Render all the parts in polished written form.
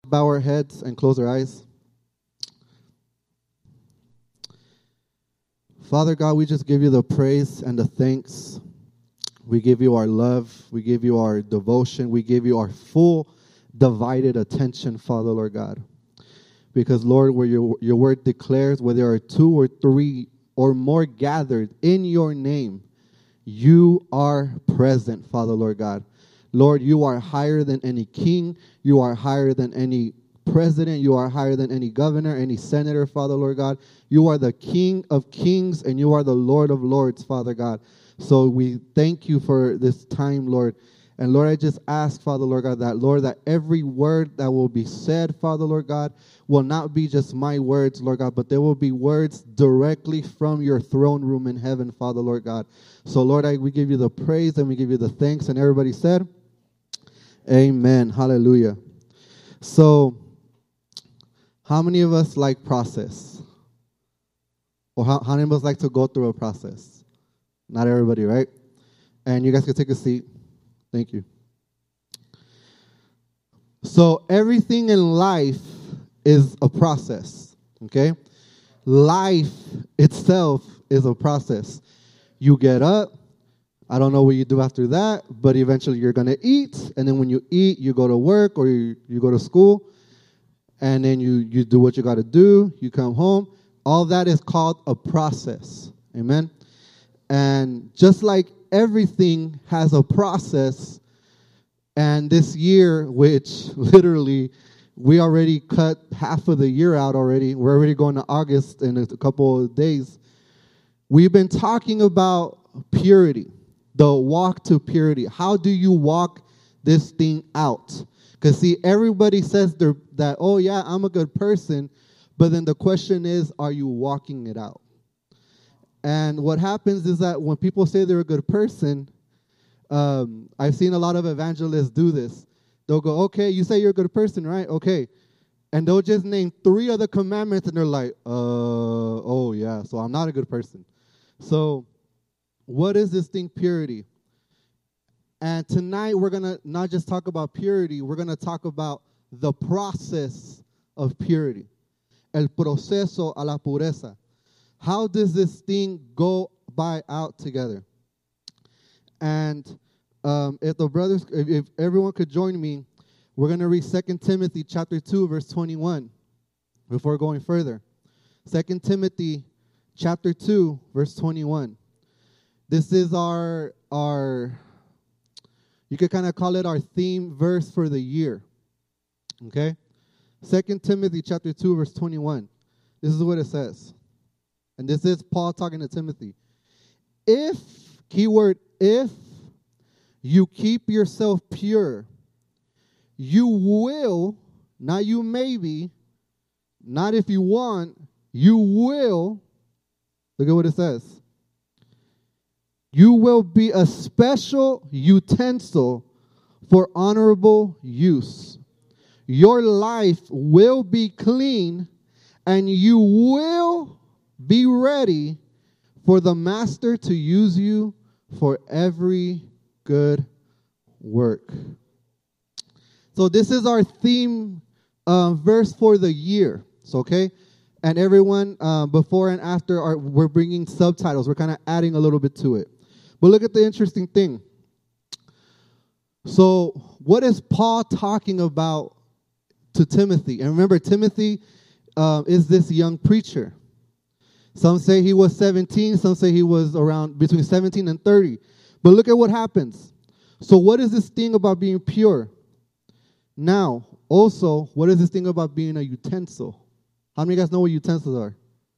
bow our heads and close our eyes. Father God, we just give you the praise and the thanks. We give you our love. We give you our devotion. We give you our full divided attention, Father, Lord God. Because, Lord, where your word declares, where there are 2 or 3 or more gathered in your name, you are present, Father, Lord God. Lord, you are higher than any king. You are higher than any president. You are higher than any governor, any senator, Father, Lord God. You are the King of kings and you are the Lord of lords, Father God. So we thank you for this time, Lord. And Lord, I just ask, Father, Lord God, that every word that will be said, Father, Lord God, will not be just my words, Lord God, but there will be words directly from your throne room in heaven, Father, Lord God. So, Lord, we give you the praise and we give you the thanks. And everybody said, amen. Hallelujah. So, how many of us like process? Or how many of us like to go through a process? Not everybody, right? And you guys can take a seat. Thank you. So everything in life is a process, okay? Life itself is a process. You get up. I don't know what you do after that, but eventually you're going to eat. And then when you eat, you go to work or you go to school. And then you do what you got to do. You come home. All that is called a process. Amen? And just like everything has a process, and this year, which literally we already cut half of the year out already. We're already going to August in a couple of days. We've been talking about purity, the walk to purity. How do you walk this thing out? Because, see, everybody says that, oh, yeah, I'm a good person. But then the question is, are you walking it out? And what happens is that when people say they're a good person, I've seen a lot of evangelists do this. They'll go, okay, you say you're a good person, right? Okay. And they'll just name 3 other commandments, and they're like, oh, yeah, so I'm not a good person. So what is this thing, purity? And tonight we're going to not just talk about purity, we're going to talk about the process of purity. El proceso a la pureza. How does this thing go by out together? And if everyone could join me, we're going to read 2 Timothy chapter 2, verse 21 before going further. 2 Timothy chapter 2, verse 21. This is our you could kind of call it our theme verse for the year. Okay? 2 Timothy chapter 2, verse 21. This is what it says. And this is Paul talking to Timothy. If, keyword, if you keep yourself pure, you will, not you maybe, not if you want, you will, look at what it says. You will be a special utensil for honorable use. Your life will be clean, and you will be ready for the master to use you for every good work. So this is our theme verse for the year. So, okay? And everyone, before and after, we're bringing subtitles. We're kind of adding a little bit to it. But look at the interesting thing. So what is Paul talking about to Timothy? And remember, Timothy is this young preacher. Some say he was 17. Some say he was around between 17 and 30. But look at what happens. So what is this thing about being pure? Now, also, what is this thing about being a utensil? How many of you guys know what utensils are?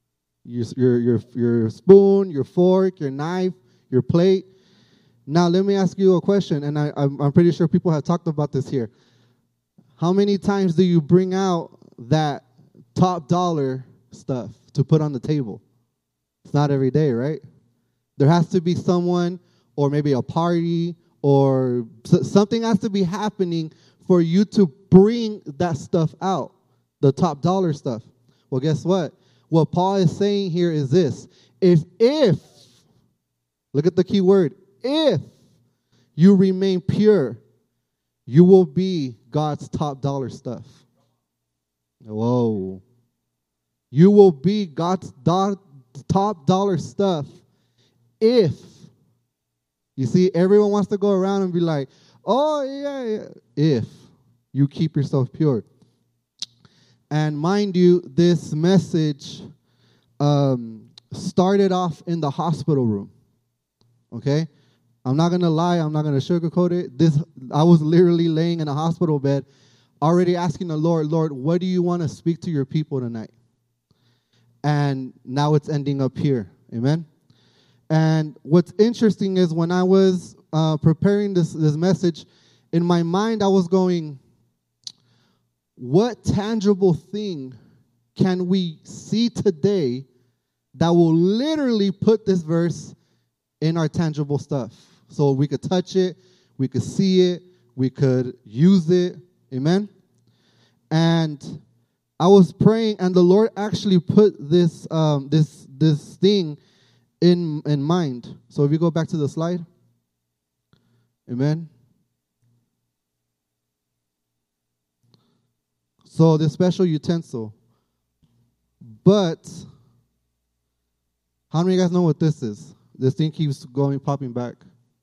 Your spoon, your fork, your knife, your plate. Now, let me ask you a question, and I'm pretty sure people have talked about this here. How many times do you bring out that top dollar stuff to put on the table? It's not every day, right? There has to be someone, or maybe a party, or something has to be happening for you to bring that stuff out, the top dollar stuff. Well, guess what? What Paul is saying here is this. If, look at the key word, if you remain pure, you will be God's top dollar stuff. Whoa. You will be God's top dollar stuff if, you see, everyone wants to go around and be like, oh, yeah, if you keep yourself pure. And mind you, this message started off in the hospital room, okay? I'm not going to lie. I'm not going to sugarcoat it. I was literally laying in a hospital bed already asking the Lord, what do you want to speak to your people tonight? And now it's ending up here. Amen? And what's interesting is when I was preparing this message, in my mind I was going, what tangible thing can we see today that will literally put this verse in our tangible stuff? So we could touch it, we could see it, we could use it. Amen? And I was praying, and the Lord actually put this this thing in mind. So if you go back to the slide. Amen. So this special utensil. But how many of you guys know what this is? This thing keeps popping back.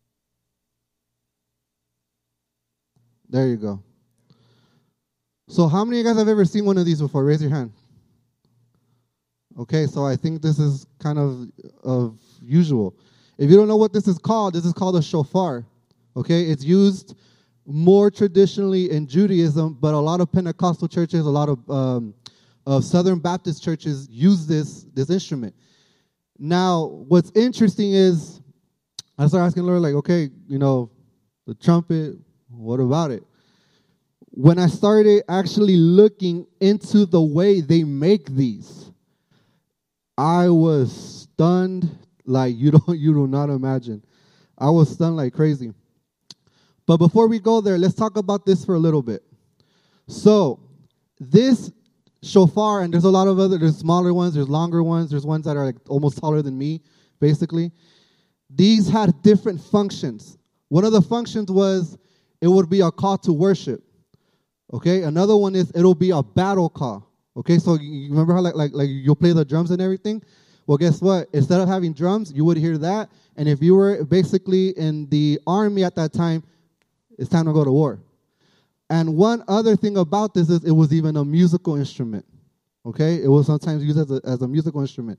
There you go. So how many of you guys have ever seen one of these before? Raise your hand. Okay, so I think this is kind of usual. If you don't know what this is called a shofar. Okay, it's used more traditionally in Judaism, but a lot of Pentecostal churches, a lot of Southern Baptist churches use this instrument. Now, what's interesting is I started asking the Lord, like, okay, the trumpet, what about it? When I started actually looking into the way they make these, I was stunned like you do not imagine. I was stunned like crazy. But before we go there, let's talk about this for a little bit. So this shofar, and there's a lot of there's smaller ones, there's longer ones, there's ones that are like almost taller than me, basically. These had different functions. One of the functions was it would be a call to worship. Okay, another one is it'll be a battle call. Okay, so you remember how like you'll play the drums and everything? Well, guess what? Instead of having drums, you would hear that. And if you were basically in the army at that time, it's time to go to war. And one other thing about this is it was even a musical instrument. Okay, it was sometimes used as a musical instrument.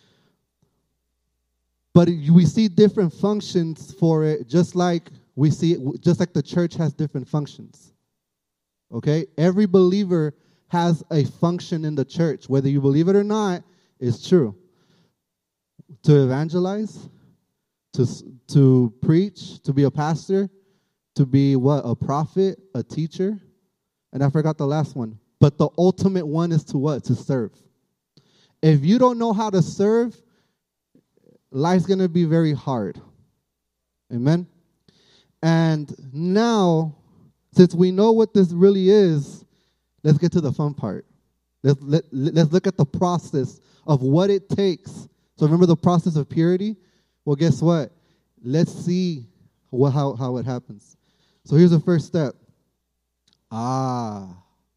But we see different functions for it, just like the church has different functions. Okay? Every believer has a function in the church. Whether you believe it or not, it's true. To evangelize, to preach, to be a pastor, to be what? A prophet, a teacher. And I forgot the last one. But the ultimate one is to what? To serve. If you don't know how to serve, life's going to be very hard. Amen? And now, since we know what this really is, let's get to the fun part. Let's look at the process of what it takes. So remember the process of purity? Well, guess what? Let's see how it happens. So here's the first step. The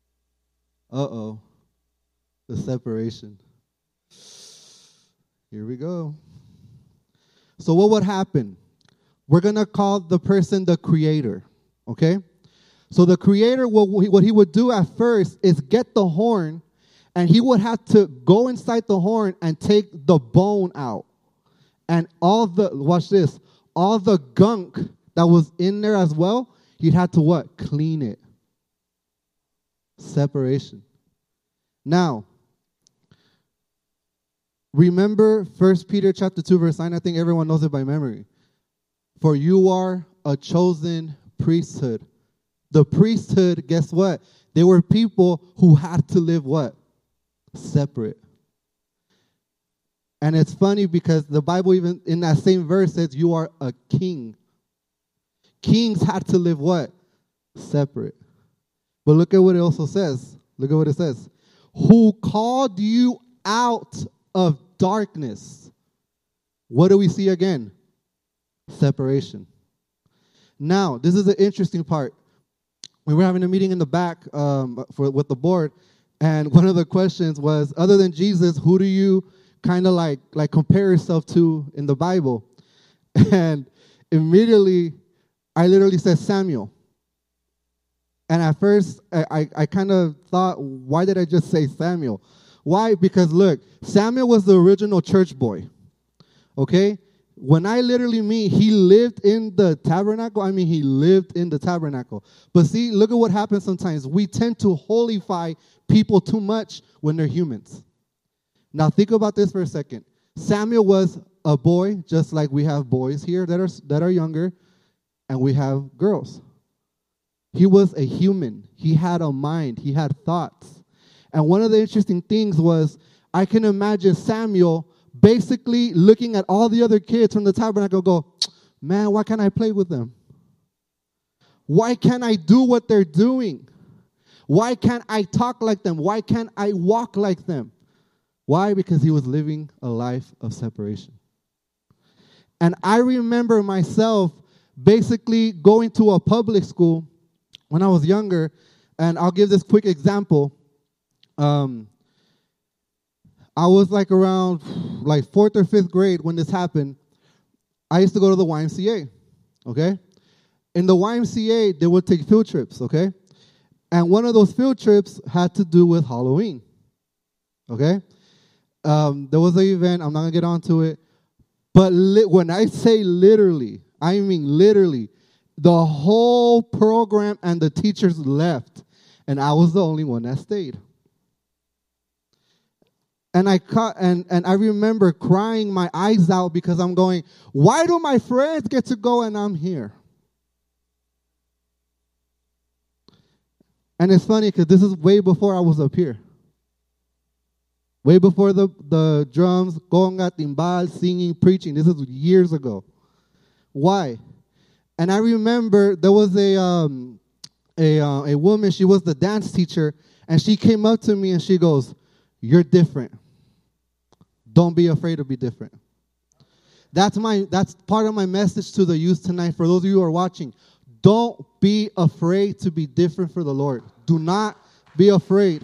separation. Here we go. So what would happen? We're going to call the person the creator, okay? So the creator, what he would do at first is get the horn, and he would have to go inside the horn and take the bone out. And watch this, all the gunk that was in there as well, he'd have to what? Clean it. Separation. Now, remember 1 Peter chapter 2, verse 9. I think everyone knows it by memory. For you are a chosen priesthood. The priesthood, guess what? They were people who had to live what? Separate. And it's funny because the Bible even in that same verse says you are a king. Kings had to live what? Separate. But look at what it also says. Look at what it says. Who called you out of darkness. What do we see again? Separation. Now, this is the interesting part. We were having a meeting in the back with the board, And one of the questions was, other than Jesus, who do you kind of like compare yourself to in the Bible? And immediately, I literally said Samuel. And at first, I kind of thought, why did I just say Samuel? Why? Because look, Samuel was the original church boy. Okay? When I literally mean he lived in the tabernacle, I mean he lived in the tabernacle. But see, look at what happens sometimes. We tend to holify people too much when they're humans. Now think about this for a second. Samuel was a boy, just like we have boys here that are younger, and we have girls. He was a human. He had a mind. He had thoughts. And one of the interesting things was, I can imagine Samuel basically looking at all the other kids from the tabernacle go, man, why can't I play with them? Why can't I do what they're doing? Why can't I talk like them? Why can't I walk like them? Why? Because he was living a life of separation. And I remember myself basically going to a public school when I was younger, and I'll give this quick example. I was around 4th or 5th grade when this happened. I used to go to the YMCA, okay? In the YMCA, they would take field trips, okay? And one of those field trips had to do with Halloween, okay? There was an event. I'm not going to get onto it. But when I say literally, I mean literally, the whole program and the teachers left, and I was the only one that stayed. And I remember crying my eyes out because I'm going, why do my friends get to go and I'm here? And it's funny because this is way before I was up here. Way before the drums, conga, timbal, singing, preaching. This is years ago. Why? And I remember there was a woman, she was the dance teacher, and she came up to me and she goes, you're different. Don't be afraid to be different. That's part of my message to the youth tonight. For those of you who are watching, don't be afraid to be different for the Lord. Do not be afraid.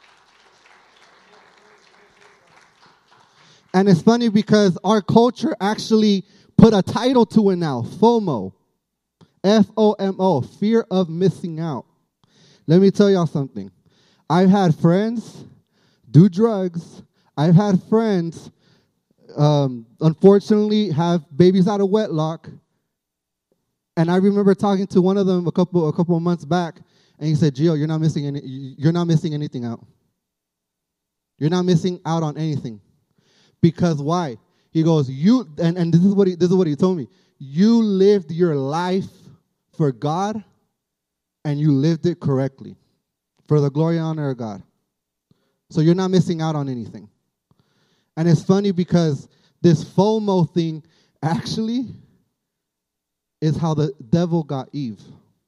And it's funny because our culture actually put a title to it now, FOMO. F-O-M-O, fear of missing out. Let me tell y'all something. I've had friends do drugs. I've had friends, unfortunately, have babies out of wedlock. And I remember talking to one of them a couple of months back, and he said, "Gio, you're not missing anything out. You're not missing out on anything, because why?" He goes, and this is what he told me. You lived your life for God, and you lived it correctly, for the glory and honor of God. So you're not missing out on anything. And it's funny because this FOMO thing actually is how the devil got Eve.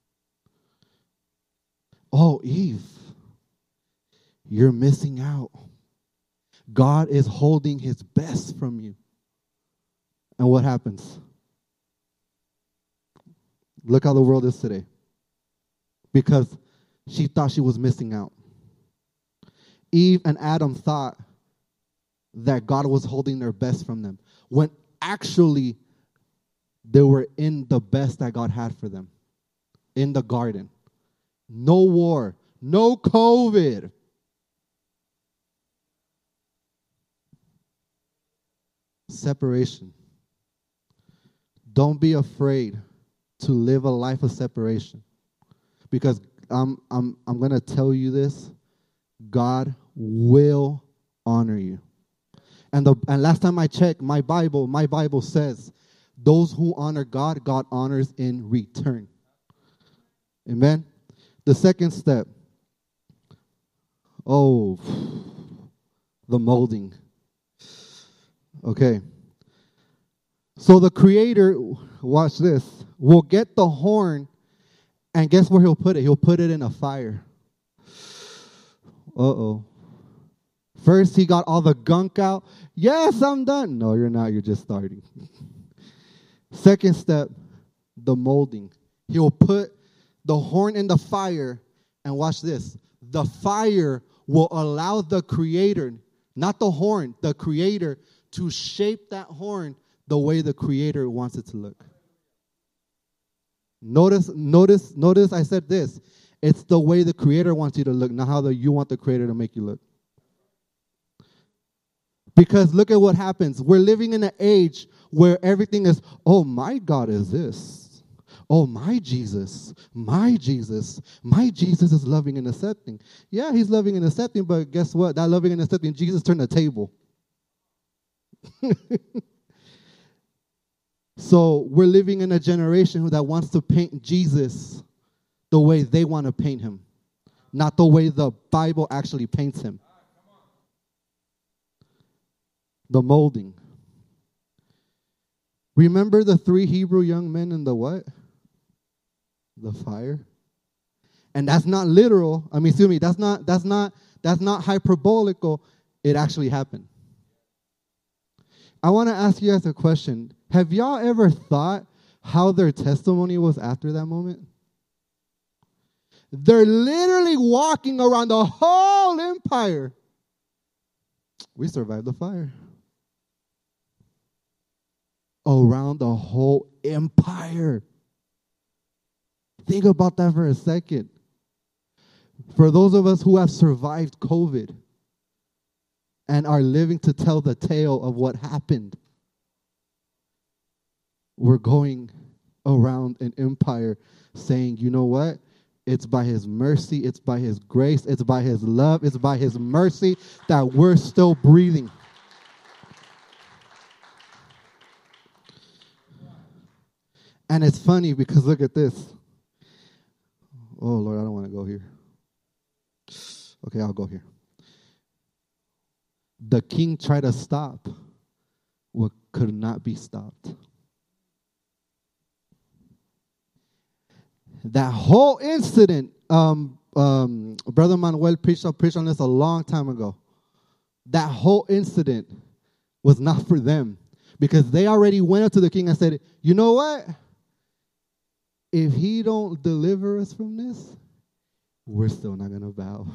Oh, Eve, you're missing out. God is holding his best from you. And what happens? Look how the world is today. Because she thought she was missing out. Eve and Adam thought that God was holding their best from them, when actually they were in the best that God had for them, in the garden. No war, no COVID. Separation. Don't be afraid to live a life of separation, because I'm going to tell you this. God will honor you. And last time I checked, my Bible says, those who honor God, God honors in return. Amen? The second step. Oh, the molding. Okay. So the Creator, watch this, will get the horn, and guess where he'll put it? He'll put it in a fire. Uh-oh. First, he got all the gunk out. Yes, I'm done. No, you're not. You're just starting. Second step, the molding. He'll put the horn in the fire, and watch this. The fire will allow the Creator, not the horn, the Creator, to shape that horn the way the Creator wants it to look. Notice I said this. It's the way the Creator wants you to look, not how you want the Creator to make you look. Because look at what happens. We're living in an age where everything is, oh, my God is this. Oh, my Jesus is loving and accepting. Yeah, he's loving and accepting, but guess what? That loving and accepting, Jesus turned the table. So we're living in a generation that wants to paint Jesus the way they want to paint him, not the way the Bible actually paints him. The molding. Remember the 3 Hebrew young men in the what? The fire. And that's not literal. I mean, excuse me, that's not hyperbolical. It actually happened. I want to ask you guys a question. Have y'all ever thought how their testimony was after that moment? They're literally walking around the whole empire. We survived the fire. Around the whole empire. Think about that for a second. For those of us who have survived COVID and are living to tell the tale of what happened, we're going around an empire saying, you know what? It's by his mercy, it's by his grace, it's by his love, it's by his mercy that we're still breathing. And it's funny because look at this. Oh, Lord, I don't want to go here. Okay, I'll go here. The king tried to stop what could not be stopped. That whole incident, Brother Manuel preached on this a long time ago. That whole incident was not for them because they already went up to the king and said, you know what? If he don't deliver us from this, we're still not going to bow.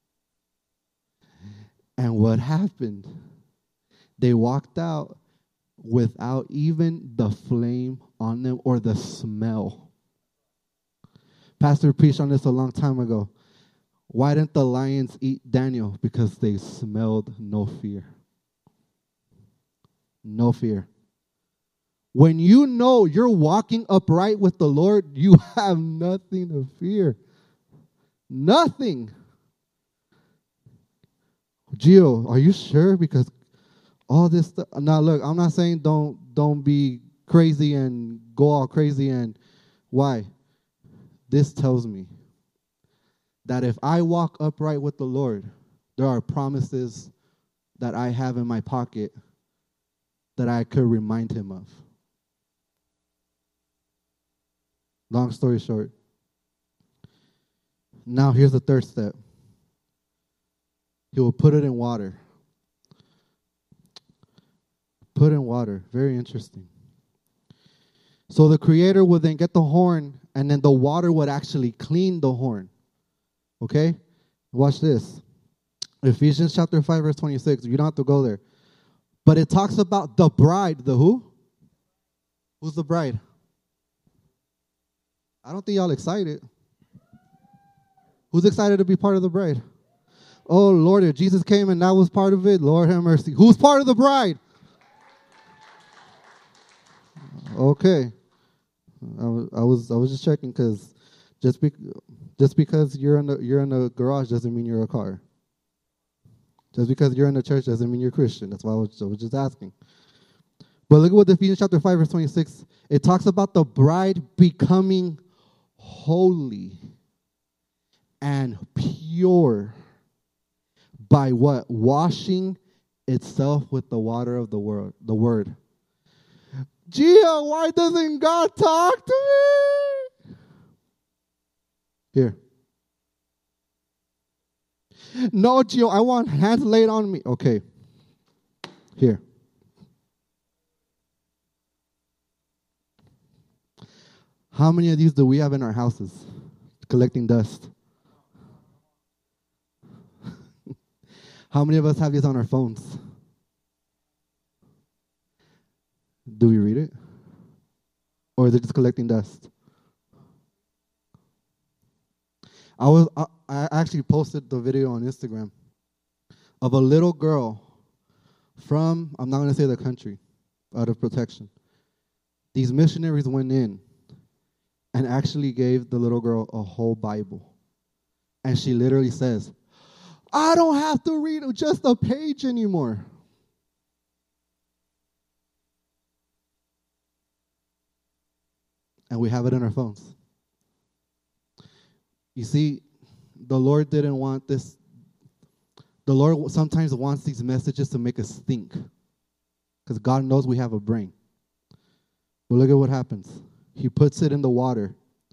And what happened? They walked out without even the flame on them or the smell. Pastor preached on this a long time ago. Why didn't the lions eat Daniel? Because they smelled no fear. No fear. When you know you're walking upright with the Lord, you have nothing to fear. Nothing. Gio, are you sure? Because all this stuff. Now, look, I'm not saying don't be crazy and go all crazy. And why? This tells me that if I walk upright with the Lord, there are promises that I have in my pocket that I could remind him of. Long story short. Now here's the third step. He will put it in water. Put in water. Very interesting. So the Creator would then get the horn, and then the water would actually clean the horn. Okay? Watch this. Ephesians chapter 5, verse 26. You don't have to go there. But it talks about the bride. The who? Who's the bride? I don't think y'all excited. Who's excited to be part of the bride? Oh, Lord, if Jesus came and that was part of it, Lord have mercy. Who's part of the bride? Okay. I was just checking because just because you're in a garage doesn't mean you're a car. Just because you're in a church doesn't mean you're Christian. That's why I was just asking. But look at what Ephesians chapter 5, verse 26, it talks about the bride becoming holy and pure by what? Washing itself with the water of the word. Gia, why doesn't God talk to me? Here. No, Gio, I want hands laid on me. Okay. Here. How many of these do we have in our houses collecting dust? How many of us have these on our phones? Do we read it? Or is it just collecting dust? I actually posted the video on Instagram of a little girl from, I'm not going to say the country, out of protection. These missionaries went in and actually gave the little girl a whole Bible. And she literally says, I don't have to read just a page anymore. And we have it in our phones. You see, the Lord didn't want this. The Lord sometimes wants these messages to make us think. Because God knows we have a brain. But look at what happens. He puts it in the water.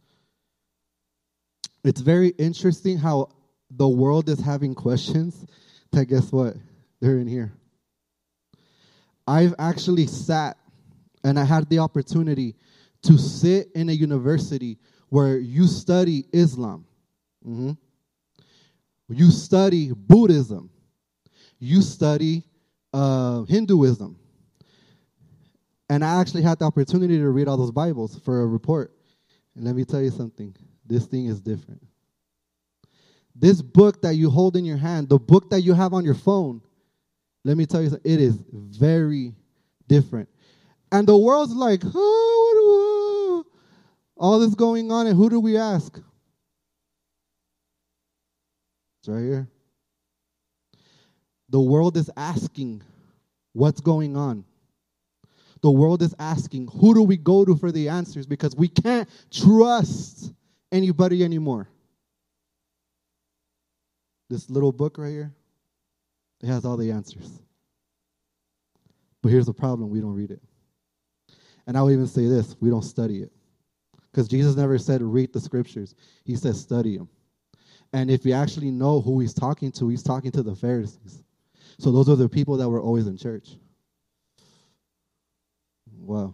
It's very interesting how the world is having questions that, guess what? They're in here. I've actually sat and I had the opportunity to sit in a university where you study Islam. Mm-hmm. You study Buddhism. You study Hinduism. And I actually had the opportunity to read all those Bibles for a report. And let me tell you something. This thing is different. This book that you hold in your hand, the book that you have on your phone, let me tell you something. It is very different. And the world's like, oh, all this going on, and who do we ask? It's right here. The world is asking what's going on. The world is asking, who do we go to for the answers? Because we can't trust anybody anymore. This little book right here, it has all the answers. But here's the problem, we don't read it. And I would even say this, we don't study it. Because Jesus never said read the scriptures. He said study them. And if you actually know who he's talking to the Pharisees. So those are the people that were always in church. Wow.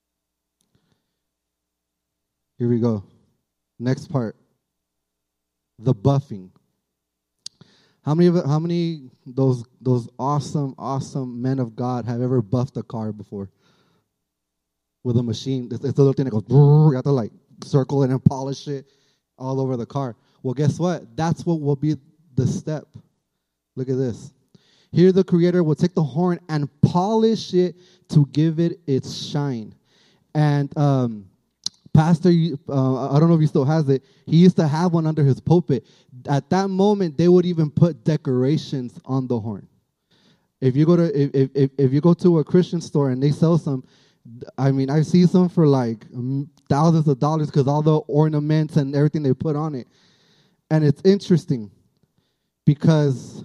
Here we go. Next part. The buffing. How many those awesome men of God have ever buffed a car before? With a machine. It's a little thing that goes, you have to like circle it and polish it all over the car. Well, guess what? That's what will be the step. Look at this. Here the Creator will take the horn and polish it to give it its shine. And Pastor, I don't know if he still has it, he used to have one under his pulpit. At that moment, they would even put decorations on the horn. If you go to a Christian store and they sell some, I mean, I see some for like thousands of dollars because all the ornaments and everything they put on it. And it's interesting because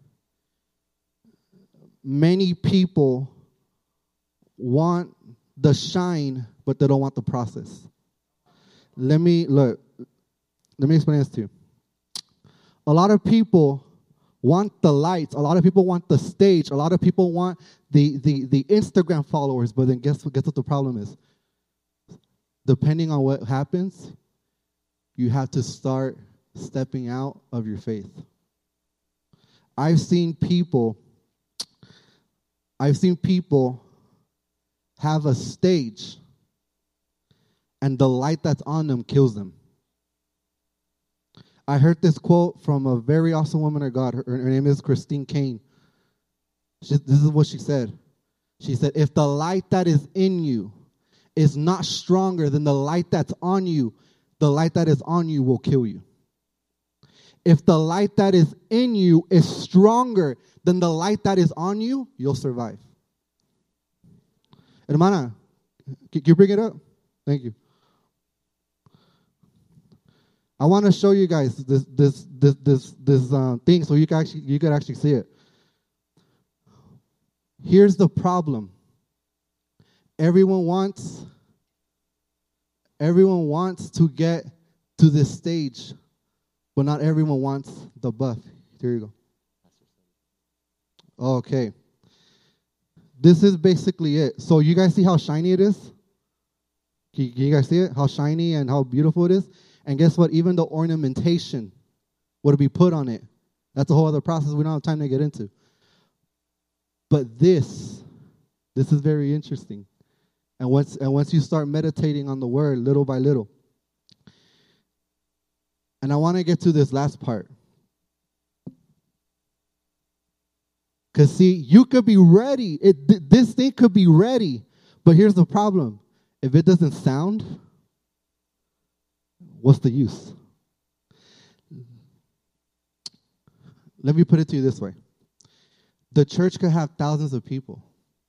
many people want the shine, but they don't want the process. Let me explain this to you. A lot of people want the lights. A lot of people want the stage. A lot of people want the Instagram followers. But then guess what the problem is? Depending on what happens, you have to start stepping out of your faith. I've seen people have a stage and the light that's on them kills them. I heard this quote from a very awesome woman of God. Her name is Christine Kane. This is what she said. She said, if the light that is in you is not stronger than the light that's on you, the light that is on you will kill you. If the light that is in you is stronger than the light that is on you, you'll survive. Hermana, can you bring it up? Thank you. I want to show you guys this thing so you can actually see it. Here's the problem. Everyone wants to get to this stage, but not everyone wants the buff. Here you go. Okay. This is basically it. So you guys see how shiny it is? Can you guys see it? How shiny and how beautiful it is? And guess what? Even the ornamentation would be put on it That's a whole other process we don't have time to get into. But this is very interesting. And once you start meditating on the word little by little. And I want to get to this last part. Because, see, you could be ready. This thing could be ready. But here's the problem. If it doesn't sound, what's the use? Let me put it to you this way. The church could have thousands of people.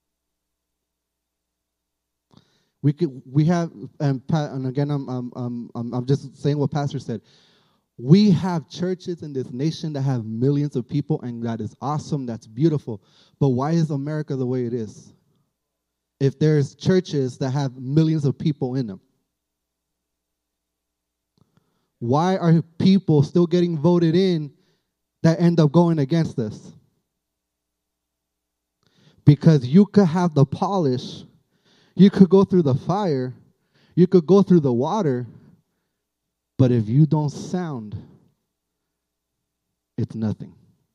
We have, and again, I'm just saying what Pastor said. We have churches in this nation that have millions of people, and that is awesome. That's beautiful. But why is America the way it is? If there's churches that have millions of people in them, why are people still getting voted in that end up going against us? Because you could have the polish, you could go through the fire, you could go through the water, but if you don't sound, it's nothing.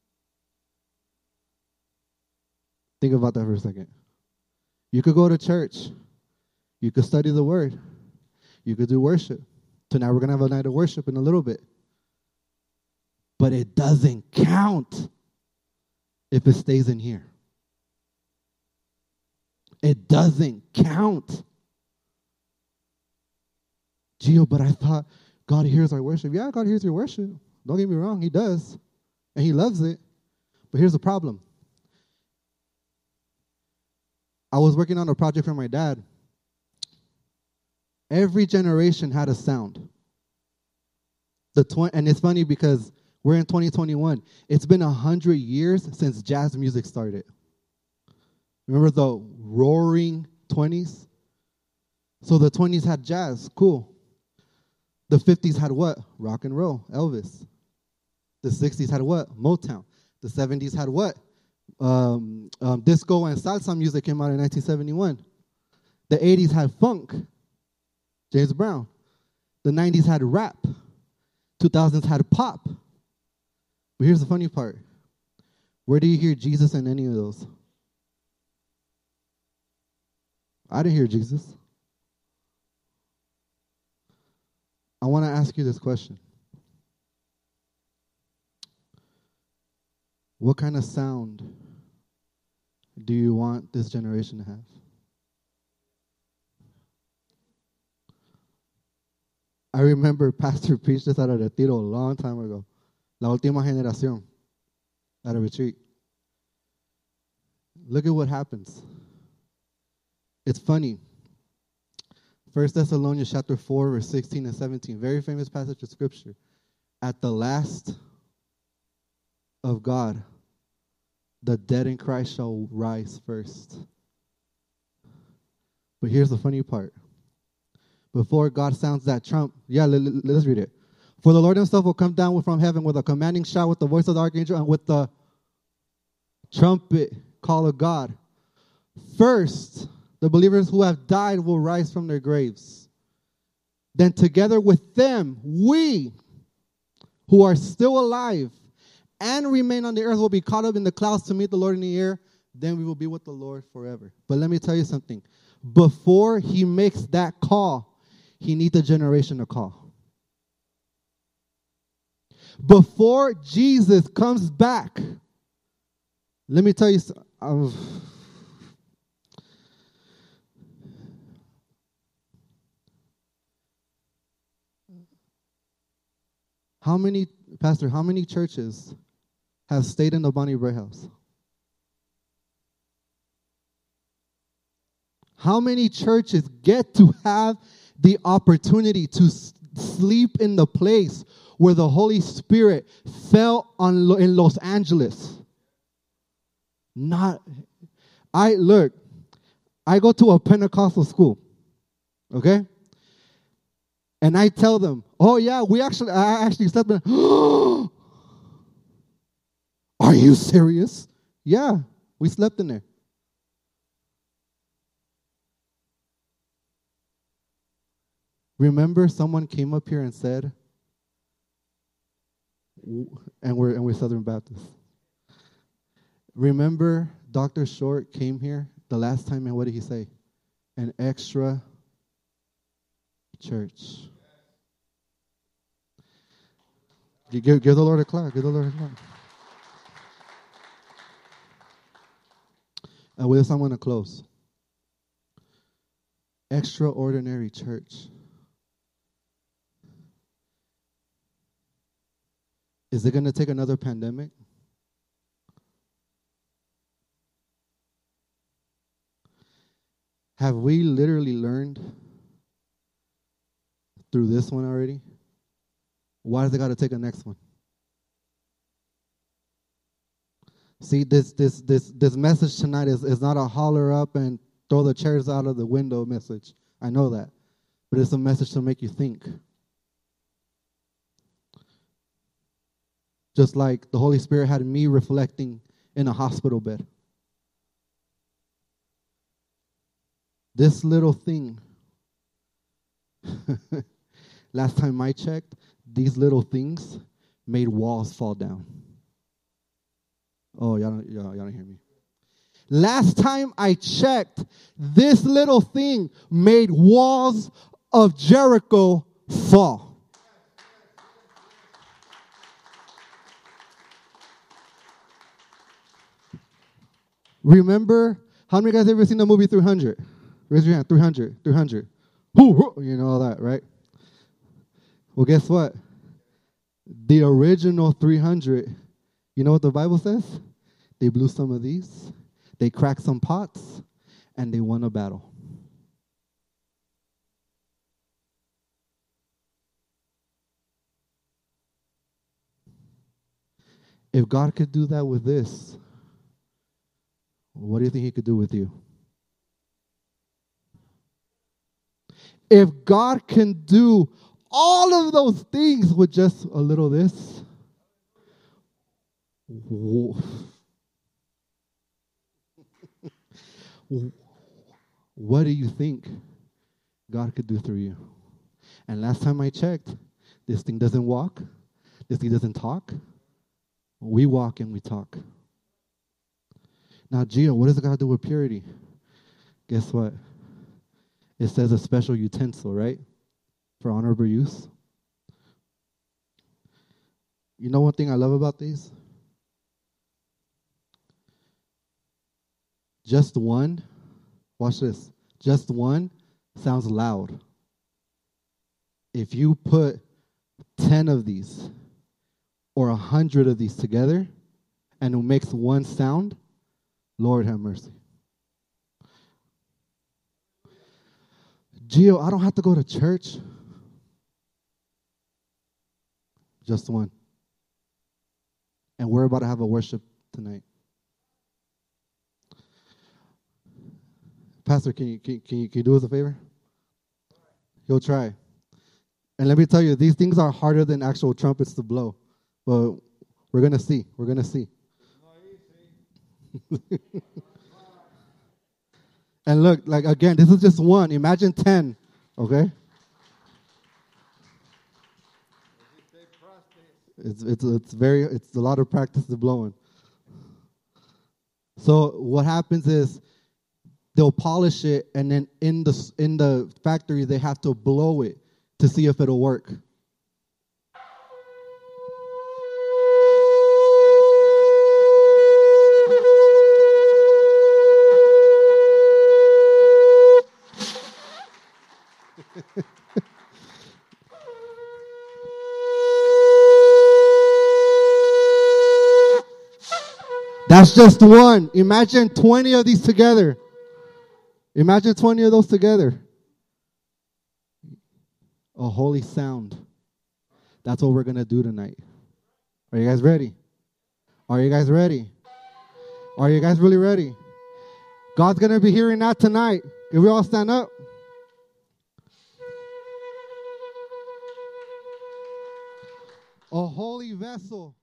Think about that for a second. You could go to church. You could study the word. You could do worship. Tonight we're going to have a night of worship in a little bit. But it doesn't count if it stays in here. It doesn't count. Gio, but I thought God hears our worship. Yeah, God hears your worship. Don't get me wrong, he does. And he loves it. But here's the problem. I was working on a project for my dad. Every generation had a sound. And it's funny because we're in 2021. It's been 100 years since jazz music started. Remember the roaring 20s? So the 20s had jazz, cool. The 50s had what? Rock and roll, Elvis. The 60s had what? Motown. The 70s had what? Disco and salsa music came out in 1971. The 80s had funk, James Brown. The 90s had rap. 2000s had pop. But here's the funny part. Where do you hear Jesus in any of those? I didn't hear Jesus. I want to ask you this question. What kind of sound do you want this generation to have? I remember Pastor preached this at a retiro a long time ago. La última generación. At a retreat. Look at what happens. It's funny. 1 Thessalonians chapter 4, verse 16 and 17. Very famous passage of scripture. At the last of God, the dead in Christ shall rise first. But here's the funny part. Before God sounds that trump, let's read it. For the Lord himself will come down from heaven with a commanding shout, with the voice of the archangel, and with the trumpet call of God. First, the believers who have died will rise from their graves. Then together with them, we who are still alive and remain on the earth will be caught up in the clouds to meet the Lord in the air. Then we will be with the Lord forever. But let me tell you something. Before he makes that call, he needs a generation to call. Before Jesus comes back, let me tell you how many churches have stayed in the Bonnie Bray house? How many churches get to have the opportunity to sleep in the place where the Holy Spirit fell in Los Angeles? I go to a Pentecostal school, okay? And I tell them, oh yeah, I actually slept in. Are you serious? Yeah, we slept in there. Remember someone came up here and said, And we're Southern Baptists. Remember, Dr. Short came here the last time, and what did he say? An extra church. Give the Lord a clap. Give the Lord a clap. And with this, I'm going to close. Extraordinary church. Is it going to take another pandemic? Have we literally learned through this one already? Why does it got to take a next one? See, this message tonight is not a holler up and throw the chairs out of the window message. I know that. But it's a message to make you think. Just like the Holy Spirit had me reflecting in a hospital bed. This little thing, last time I checked, these little things made walls fall down. Oh, y'all don't hear me. Last time I checked, this little thing made walls of Jericho fall. Remember, how many guys ever seen the movie 300? Raise your hand, 300, 300. You know all that, right? Well, guess what? The original 300, you know what the Bible says? They blew some of these, they cracked some pots, and they won a battle. If God could do that with this, what do you think he could do with you? If God can do all of those things with just a little this, what do you think God could do through you? And last time I checked, this thing doesn't walk. This thing doesn't talk. We walk and we talk. Now, Gio, what does it got to do with purity? Guess what? It says a special utensil, right? For honorable use. You know one thing I love about these? Just one, watch this, just one sounds loud. If you put 10 of these or 100 of these together and it makes one sound, Lord have mercy. Gio, I don't have to go to church. Just one. And we're about to have a worship tonight. Pastor, can you do us a favor? You'll try. And let me tell you, these things are harder than actual trumpets to blow. But we're going to see. We're going to see. And look, like again, this is just one. Imagine 10, okay? It's a lot of practice to blowing. So what happens is they'll polish it, and then in the factory they have to blow it to see if it'll work. That's just one. Imagine 20 of these together. Imagine 20 of those together. A holy sound. That's what we're going to do tonight. Are you guys ready? Are you guys ready? Are you guys really ready? God's going to be hearing that tonight. Can we all stand up? A holy vessel.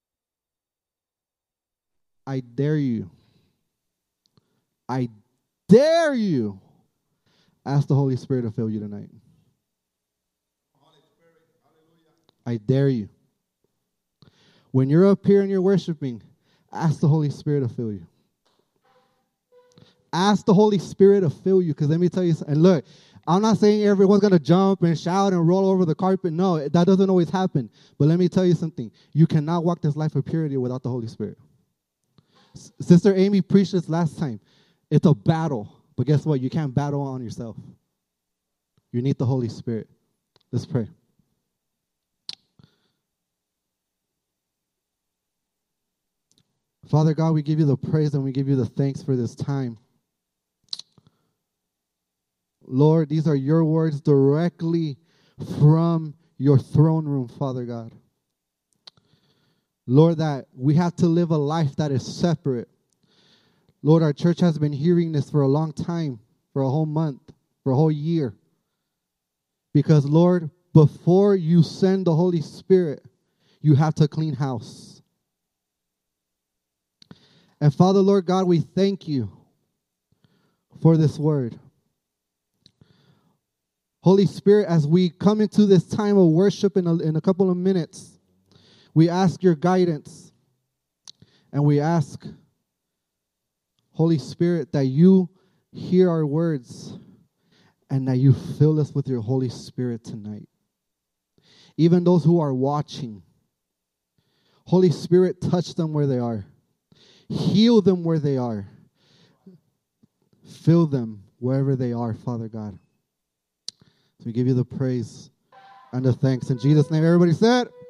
I dare you. I dare you. Ask the Holy Spirit to fill you tonight. I dare you. When you're up here and you're worshiping, ask the Holy Spirit to fill you. Ask the Holy Spirit to fill you. Because let me tell you something. And look, I'm not saying everyone's going to jump and shout and roll over the carpet. No, that doesn't always happen. But let me tell you something. You cannot walk this life of purity without the Holy Spirit. Sister Amy preached this last time. It's a battle. But guess what? You can't battle on yourself. You need the Holy Spirit. Let's pray. Father God, we give you the praise and we give you the thanks for this time. Lord, these are your words directly from your throne room, Father God. Lord, that we have to live a life that is separate. Lord, our church has been hearing this for a long time, for a whole month, for a whole year. Because, Lord, before you send the Holy Spirit, you have to clean house. And Father, Lord God, we thank you for this word. Holy Spirit, as we come into this time of worship in a couple of minutes, we ask your guidance. And we ask, Holy Spirit, that you hear our words and that you fill us with your Holy Spirit tonight. Even those who are watching, Holy Spirit, touch them where they are. Heal them where they are. Fill them wherever they are, Father God. So we give you the praise and the thanks. In Jesus' name, everybody said.